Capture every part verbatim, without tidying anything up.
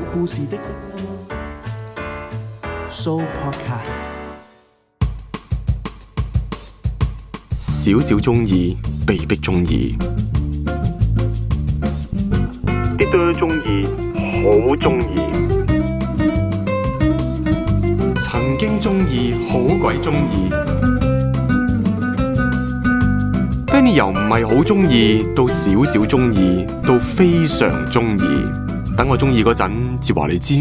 故事的 Show Podcast。 少少中意，被逼中意；啲多中意，好中意；曾經中意，好鬼中意。Benny 由唔係好中意，到少少中意，到非常中意。等我中意嗰陣，至話你知。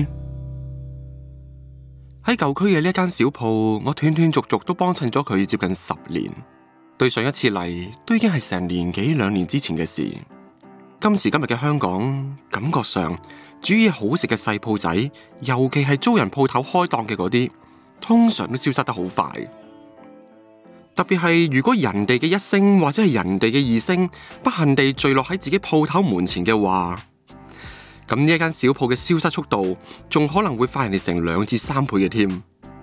喺舊區嘅呢一間小鋪，我斷斷續續都幫襯咗佢接近十年。對上一次嚟，都已經係成年幾兩年之前嘅事。今時今日嘅香港，感覺上煮嘢好食嘅細鋪仔，尤其係租人鋪頭開檔嘅嗰啲，通常都消失得好快。特別係如果人哋嘅一聲或者係人哋嘅二聲，不幸地墜落喺自己鋪頭門前嘅話，咁呢一間小鋪嘅消失速度，仲可能會快人哋成兩至三倍嘅添。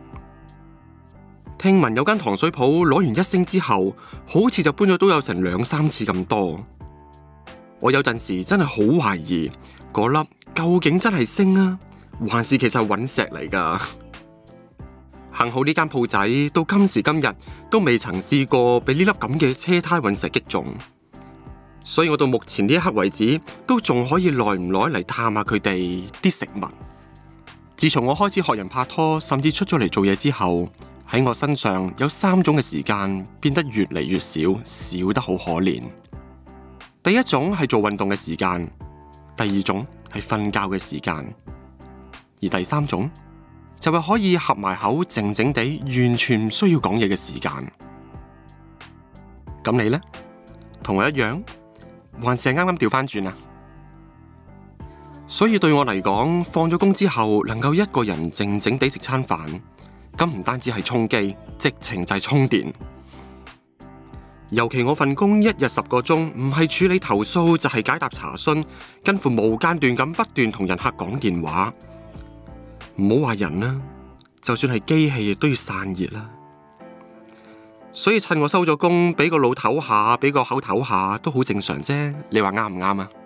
聽聞有間糖水鋪攞完一星之後，好似就搬咗都有成兩三次咁多。我有陣時真係好懷疑嗰粒究竟真係星啊，還是其實係隕石嚟噶？幸好呢間鋪仔到今時今日都未曾試過俾呢粒咁嘅車胎隕石擊中，所以我到目前呢一刻為止都仲可以耐唔耐嚟探下佢哋啲食物。自從我開始學人拍拖，甚至出咗嚟做嘢之後，喺我身上有三種嘅時間變得越嚟越少，少得好可憐。第一種係做運動嘅時間，第二種係瞓覺嘅時間，而第三種就係可以合埋口靜靜地，完全唔需要講嘢嘅時間。咁你呢？同我一樣，還是係啱啱調翻轉啊？所以對我嚟講，放咗工之後能夠一個人靜靜地食餐飯，咁唔單止係充飢，直情就係充電。尤其我份工一日十個鐘，唔係處理投訴就係解答查詢，近乎無間斷咁不斷同人客講電話。唔好話人啦，就算係機器亦都要散熱啦。所以趁我收咗工，俾個腦唞下，俾個口唞下，都好正常啫。你話啱唔啱啊？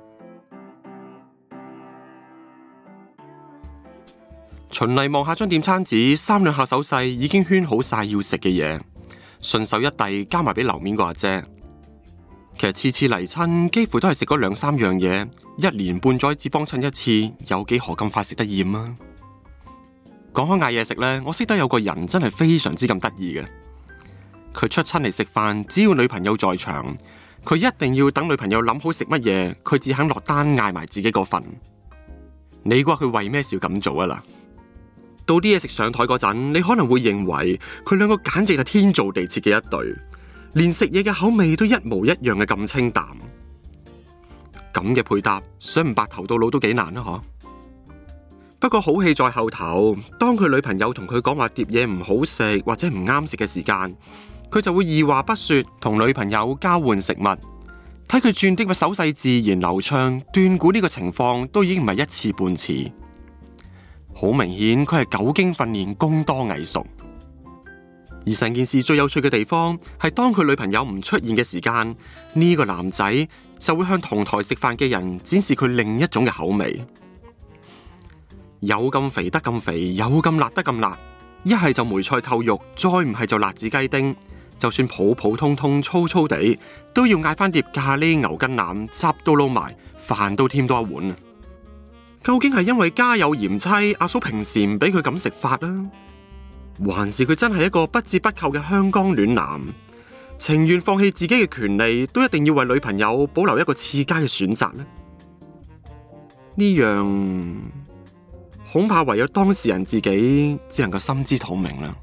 循例望下張點餐紙，三兩下手勢已經圈好晒要食嘅嘢，順手一遞交埋俾樓面個阿姐。其實次次嚟親，幾乎都係食嗰兩三樣嘢，一年半載只幫襯一次，有幾何咁快食得厭啊？講開嗌嘢食呢，我識得有個人真係非常之咁得意嘅。佢出親嚟食飯，只要女朋友在場，佢一定要等女朋友諗好食乜嘢，佢只肯落單嗌埋自己個份。你估佢為咩事要咁做啊？嗱，到啲嘢食上台嗰陣，你可能會認為佢兩個簡直係天造地設嘅一對，連食嘢嘅口味都一模一樣嘅咁清淡。咁嘅配搭，想唔白頭到老都幾難啊！嗬。不過好戲在後頭，當佢女朋友同佢講話碟嘢唔好食或者唔啱食嘅時間，佢就會二話不說同女朋友交換食物。睇佢轉啲嘅手勢自然流暢，斷估呢個情況都已經唔係一次半次。好明顯佢係久經訓練，工多藝熟。而成件事最有趣嘅地方係當佢女朋友唔出現嘅時間，呢個男仔就會向同台食飯嘅人展示佢另一種嘅口味。有咁肥得咁肥，有咁辣得咁辣，一係就梅菜扣肉，再唔係就辣子雞丁。就算普普通通粗粗地，都要嗌翻碟咖喱牛筋腩，汁都撈埋，飯都添多一碗。究竟係因為家有賢妻，阿嫂平時唔俾佢咁食法啊？還是佢真係一個不折不扣嘅香港暖男，情願放棄自己嘅權利，都一定要為女朋友保留一個次佳嘅選擇呢？呢樣恐怕唯有當事人自己只能夠心知肚明啦。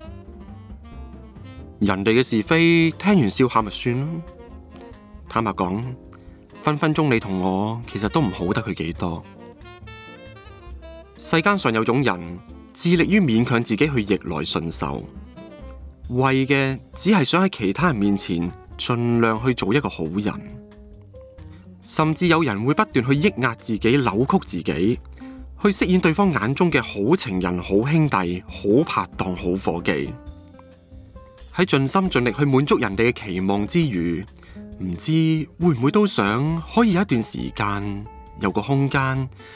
人哋嘅是非，聽完笑下咪算咯。坦白講，分分鐘你同我其實都唔好得佢幾多。世間上有種人，致力於勉強自己去逆來順受，為嘅只係想喺其他人面前盡量去做一個好人。甚至有人會不斷去抑壓自己，扭曲自己，去飾演對方眼中嘅好情人、好兄弟、好拍檔、好夥計。喺盡心盡力去滿足人哋嘅期望之餘，唔知會唔會都想可以有一段時間，有個空間，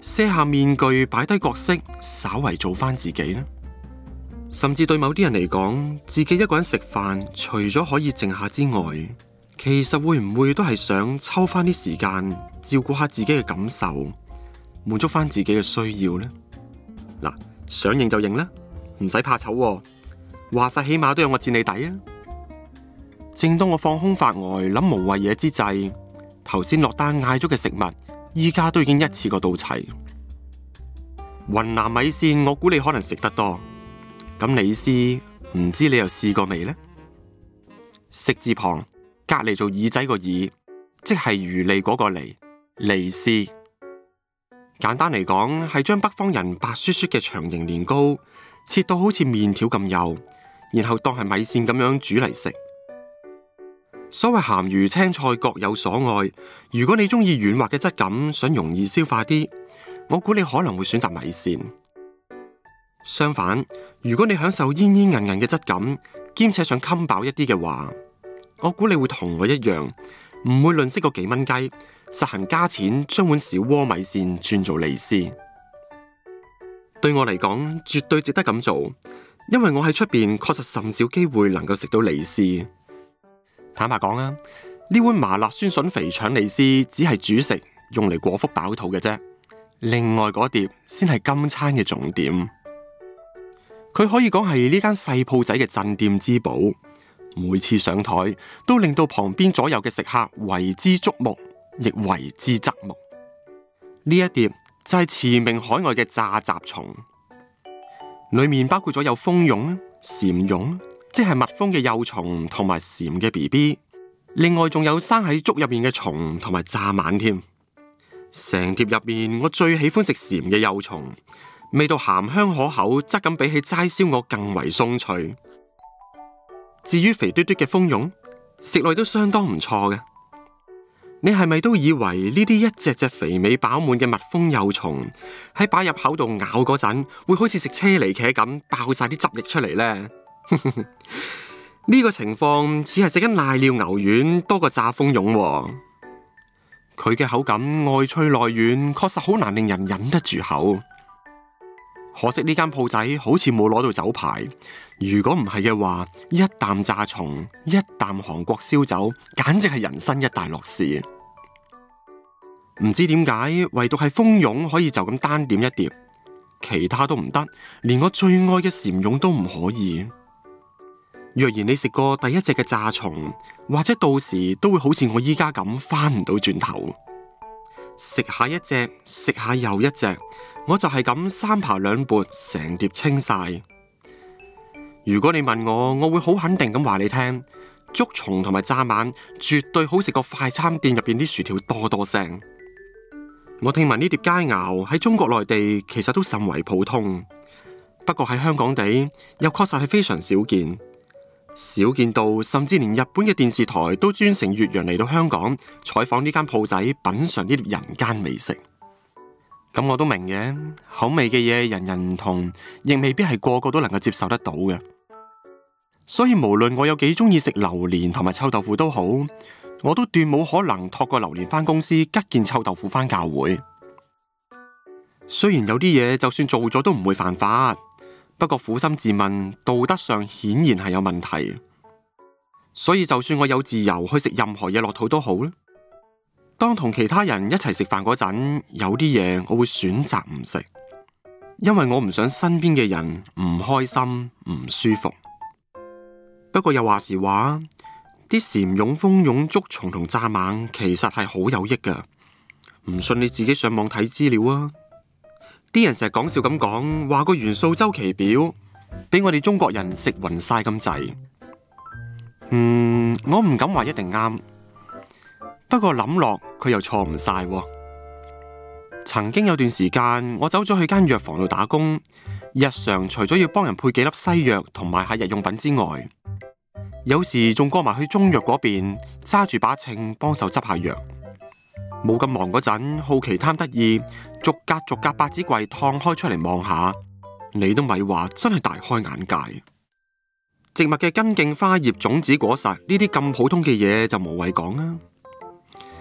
卸下面具，擺低角色，稍為做翻自己呢？甚至對某啲人嚟講，自己一個人食飯，除咗可以靜下之外，其實會唔會都係想抽翻啲時間照顧下自己嘅感受，滿足翻自己嘅需要呢？嗱，想認就認啦，唔使怕醜喎，話晒起碼都有我墊你底啊！正當我放空發呆諗無謂嘢之際，頭先落單嗌咗嘅食物，依家都已經一次過到齊。雲南米線，我估你可能食得多。咁李斯，唔知你又試過未呢？食字旁隔籬做耳仔個耳，即係魚脷嗰個脷，利斯。簡單嚟講，係將北方人白雪雪嘅長形年糕切到好似麵條咁幼，然後當係米線咁樣煮嚟食。所謂鹹魚青菜各有所愛，如果你中意軟滑嘅質感，想容易消化啲，我估你可能會選擇米線。相反，如果你享受煙煙韌韌嘅質感，兼且想襟飽一啲嘅話，我估你會同我一樣，唔會吝嗇個幾蚊雞，實行加錢將碗小鍋米線轉做利斯。對我嚟講，絕對值得咁做，因為我喺出邊確實甚少機會能夠食到利斯。坦白講啊，呢碗麻辣酸筍肥腸利斯只係主食，用嚟果腹飽肚嘅啫，另外嗰碟先係今餐嘅重點。佢可以講係呢間細鋪仔嘅鎮店之寶，每次上台都令到旁邊左右嘅食客為之矚目，亦為之側目。呢一碟就係馳名海外嘅炸雜蟲，裏面包括咗有蜂蛹、蟬蛹，即係蜜蜂嘅幼蟲同埋蟬嘅 B B， 另外仲有生喺竹入面嘅蟲同埋蚱蜢添。成碟入面，我最喜歡食蟬嘅幼蟲。味道鹹香可口，質感比起齋燒鵝更為鬆脆。至於肥嘟嘟嘅蜂蛹，食落都相當唔錯嘅。你係咪都以為呢啲一隻隻肥美飽滿嘅蜜蜂幼蟲喺擺入口度咬嗰陣，會好似食車厘茄咁爆晒啲汁液出嚟呢？呢個情況似係食緊瀨尿牛丸多過炸蜂蛹喎。佢嘅口感外脆內軟，確實好難令人忍得住口。可惜呢間鋪仔好似冇攞到酒牌，如果唔係嘅話，一啖炸蟲，一啖韓國燒酒，簡直係人生一大樂事。唔知點解，唯獨係蜂蛹可以就咁單點一碟，其他都唔得，連我最愛嘅蟬蛹都唔可以。若然你食過第一隻嘅炸蟲，或者到時都會好似我依家咁翻唔到轉頭，食下一隻，食下又一隻。我就係咁三扒兩撥，成碟清晒。如果你問我，我會好肯定咁話你聽，竹蟲同埋蚱蜢絕對好食過快餐店入邊啲薯條多多聲。我聽聞呢碟佳肴喺中國內地其實都甚為普通，不過喺香港地又確實係非常少見，少見到甚至連日本嘅電視台都專程越洋嚟到香港採訪呢間鋪仔，品嘗呢碟人間美食。咁我都明嘅，口味嘅嘢人人唔同，亦未必係個個都能夠接受得到嘅。所以無論我有幾中意食榴蓮同埋臭豆腐都好，我都斷冇可能托個榴蓮返公司，吉件臭豆腐返教會。雖然有啲嘢就算做咗都唔會犯法，不過苦心自問，道德上顯然係有問題。所以就算我有自由去食任何嘢落肚都好啦。當同其他人一齊食飯嗰陣，有啲嘢我會選擇唔食，因為我唔想身邊嘅人唔開心、唔舒服。不過又話時話，啲蟬蛹、蜂蛹、竹蟲同蚱蜢其實係好有益噶。唔信你自己上網睇資料啊！啲人成日講笑咁講，話個元素周期表俾我哋中國人食暈晒咁滯。嗯，我唔敢話一定啱。不過諗落佢又錯唔晒。曾經有段時間，我走咗去間藥房度打工，日常除咗要幫人配幾粒西藥同埋下日用品之外，有時仲過埋去中藥嗰邊揸住把秤幫手執下藥。冇咁忙嗰陣，好奇貪得意，逐格逐格百子櫃燙開出嚟望下，你都咪話，真係大開眼界。植物嘅根莖花葉種子果實呢啲咁普通嘅嘢就無謂講啦。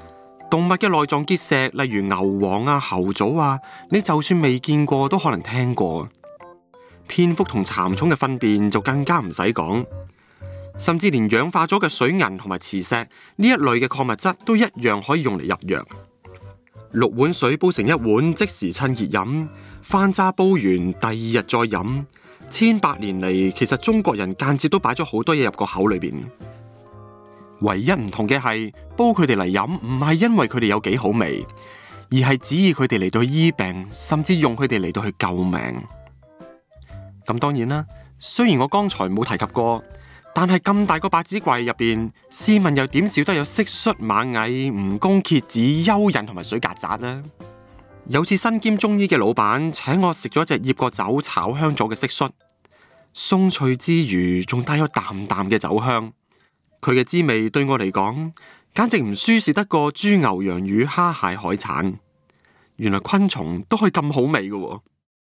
動物嘅內臟結石，例如牛黃啊、猴棗啊，你就算未見過都可能聽過。蝙蝠同蠶蟲嘅糞便就更加唔使講，甚至連氧化咗嘅水銀同埋磁石呢一類嘅礦物質都一樣可以用嚟入藥。六碗水煲成一碗，即時趁熱飲，翻渣煲完第二日再飲。千百年嚟，其實中國人間接都擺咗好多嘢入個口裏邊。唯一唔同嘅係，煲佢哋嚟飲唔係因為佢哋有幾好味，而係指意佢哋嚟到去醫病，甚至用佢哋嚟到去救命。咁當然啦，雖然我剛才冇提及過，但係咁大個百子櫃入邊，試問又點少得有蟋蟀、螞蟻、蜈蚣、蠍子、蚯蚓同埋水曱甴呢？有次身兼中醫嘅老闆請我食咗隻醃過酒、炒香咗嘅蟋蟀，鬆脆之餘仲帶有淡淡嘅酒香。佢嘅滋味對我嚟講，簡直唔輸蝕得過豬牛羊魚蝦蟹海產。原來昆蟲都可以咁好味嘅喎。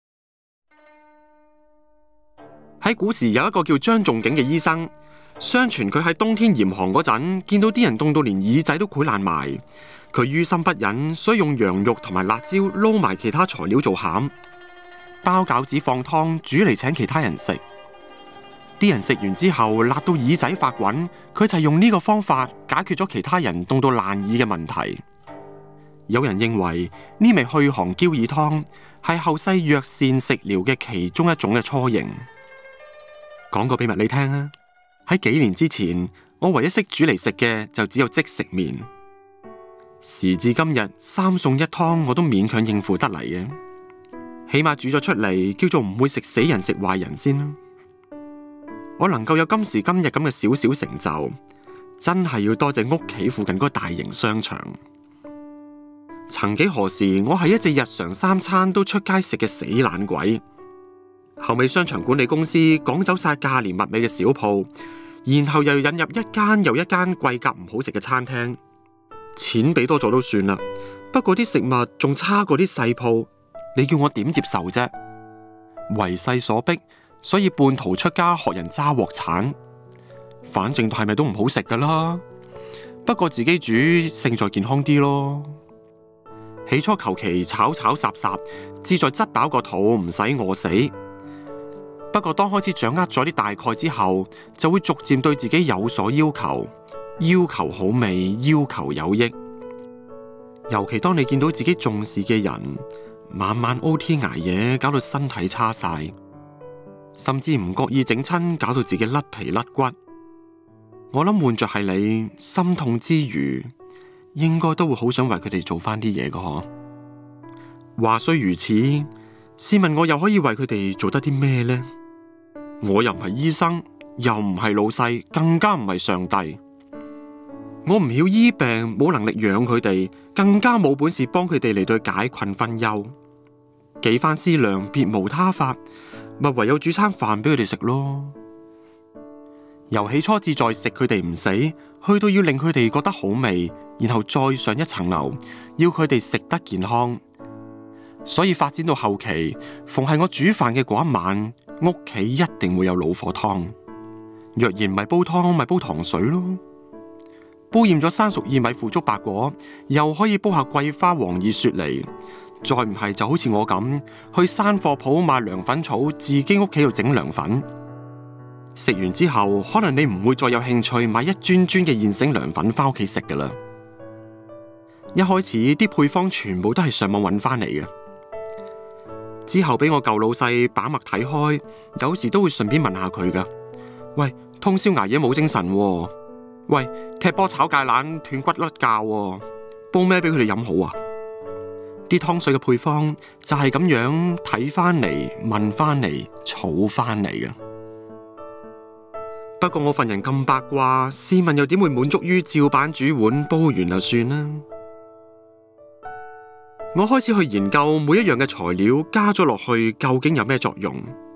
喺古時有一個叫張仲景嘅醫生，相傳佢喺冬天嚴寒嗰陣，見到啲人凍到連耳仔都潰爛埋，佢於心不忍，所以用羊肉同埋辣椒撈埋其他材料做餡，包餃子放湯煮嚟請其他人食。啲人食完之後辣到耳仔發滾，佢就係用呢個方法解決咗其他人凍到爛耳嘅問題。有人認為呢味去寒嬌耳湯係後世藥膳食療嘅其中一種嘅雛形。講個秘密你聽啊！喺幾年之前，我唯一識煮嚟食嘅就只有即食麵。時至今日，三餸一湯我都勉強應付得嚟嘅，起碼煮咗出嚟叫做唔會食死人食壞人先啦。我能夠有今時今日咁嘅小小成就，真係要多謝屋企附近嗰個大型商場。曾幾何時，我係一隻日常三餐都出街食嘅死懶鬼。後尾商場管理公司趕走晒價廉物美嘅小鋪，然後又引入一間又一間貴格唔好食嘅餐廳，錢俾多咗都算啦。不過啲食物仲差過啲細鋪，你叫我點接受啫？為勢所逼，所以半途出家學人揸鑊鏟，反正係咪都唔好食噶啦。不過自己煮勝在健康啲咯。起初求其炒炒霎霎，志在執飽個肚，唔使餓死。不過當開始掌握咗啲大概之後，就會逐漸對自己有所要求，要求好味，要求有益。尤其當你見到自己重視嘅人晚晚 O T 捱夜，搞到身體差晒，甚至唔覺意整親，搞到自己甩皮甩骨。我諗換着係你，心痛之餘，應該都會好想為佢哋做翻啲嘢㗎嗬。話雖如此，試問我又可以為佢哋做得啲咩呢？我又唔係醫生，又唔係老細，更加唔係上帝。我唔曉醫病，冇能力養佢哋，更加冇本事幫佢哋嚟到解困分憂。幾番思量，別無他法，咪唯有煮餐飯俾佢哋食咯。由起初志在食佢哋唔死，去到要令佢哋覺得好味，然後再上一層樓，要佢哋食得健康。所以發展到後期，逢係我煮飯嘅嗰一晚，屋企一定會有老火湯。若然唔係煲湯，咪煲糖水咯。煲厭咗生熟薏米腐竹白果，又可以煲下桂花黃薏雪梨。再唔係就好似我咁，去山貨鋪買涼粉草，自己屋企度整涼粉。食完之後，可能你唔會再有興趣買一樽樽嘅現成涼粉翻屋企食噶啦。一開始啲配方全部都係上網揾翻嚟嘅。之後俾我舊老細把脈睇開，有時都會順便問下佢噶。喂，通宵捱夜冇精神喎。喂，踢波炒芥蘭斷骨甩骹，煲咩俾佢哋飲好啊？啲湯水嘅配方就係咁樣睇翻嚟、問翻嚟、儲翻嚟嘅。不過我份人咁八卦，試問又點會滿足於照板煮碗煲完就算啦？我開始去研究每一樣嘅材料加咗落去究竟有咩作用。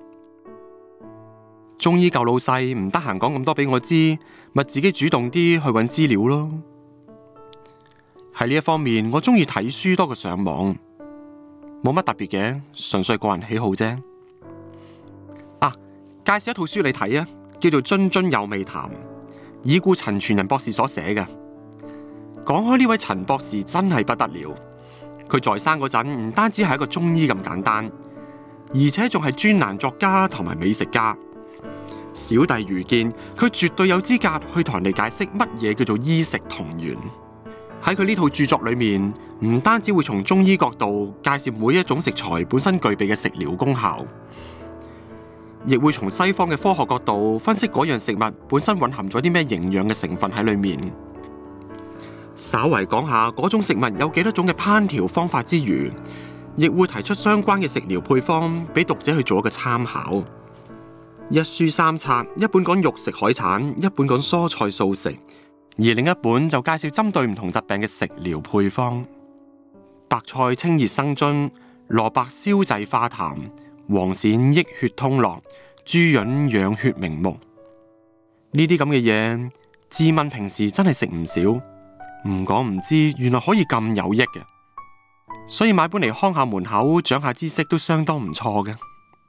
中醫舊老細唔得閒講咁多俾我知，咪自己主動啲去揾資料咯。喺呢一方面，我中意睇書多過上網，冇乜特別嘅，純粹個人喜好啫。啊，介紹一套書你睇啊，叫做《津津有味談》，已故陳傳仁博士所寫嘅。 講開呢位陳博士真係不得了，佢在生嗰陣唔單止係一個中醫咁簡單，而且仲係專欄作家同埋美食家。小弟愚見佢絕對有資格去同人哋解釋乜嘢叫做醫食同源。喺佢呢套著作裏面，唔單止會從中醫角度介紹每一種食材本身具備嘅食療功效，亦會從西方嘅科學角度分析嗰樣食物本身蘊含咗啲咩營養嘅成分喺裏面。稍為講下嗰種食物有幾多種嘅烹調方法之餘，亦會提出相關嘅食療配方俾讀者去做一個參考。一書三冊，一本講肉食海產，一本講蔬菜素食，而另一本就介紹針對唔同疾病嘅食療配方。白菜清熱生津，蘿蔔消滯化痰，黃鱔益血通絡，豬膶養血明目。呢啲咁嘅嘢，自問平時真係食唔少，唔講唔知，原來可以咁有益嘅，所以買本嚟看下門口，長下知識都相當唔錯嘅。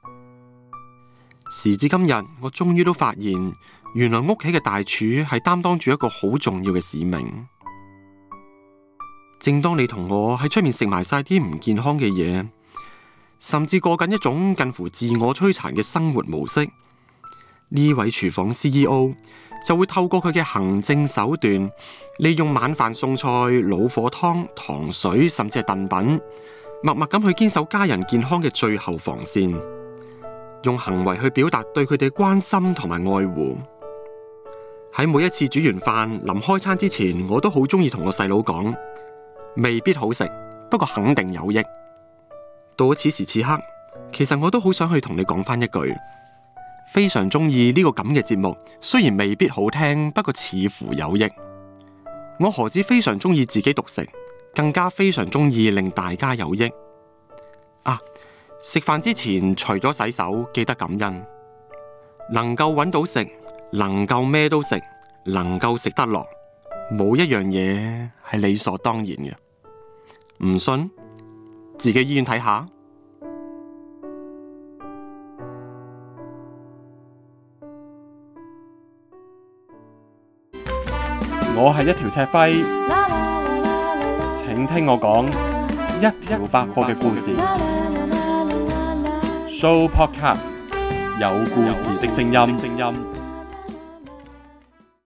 時至今日，我終於都發現，原來屋企嘅大廚係擔當住一個好重要嘅使命。正當你同我喺出面食埋晒啲唔健康嘅嘢，甚至過緊一種近乎自我摧殘嘅生活模式，呢位廚房 C E O 就會透過佢嘅行政手段，利用晚飯餸菜、老火湯、糖水，甚至係燉品，默默咁去堅守家人健康嘅最後防線，用行為去表達對佢哋關心同埋愛護。喺每一次煮完飯臨開餐之前，我都好中意同我細佬講，未必好食，不過肯定有益。到咗此時此刻，其實我都好想去同你講翻一句，非常中意呢個咁嘅節目，雖然未必好聽，不過似乎有益。我何止非常中意自己獨食，更加非常中意令大家有益。啊，食飯之前除咗洗手，記得感恩。能夠揾到食，能夠咩都食，能夠食得落，冇一樣嘢係理所當然嘅。唔信，自己醫院睇下。我係一條赤輝，請聽我講一條百貨嘅故事。Show Podcast， 有故事的聲音。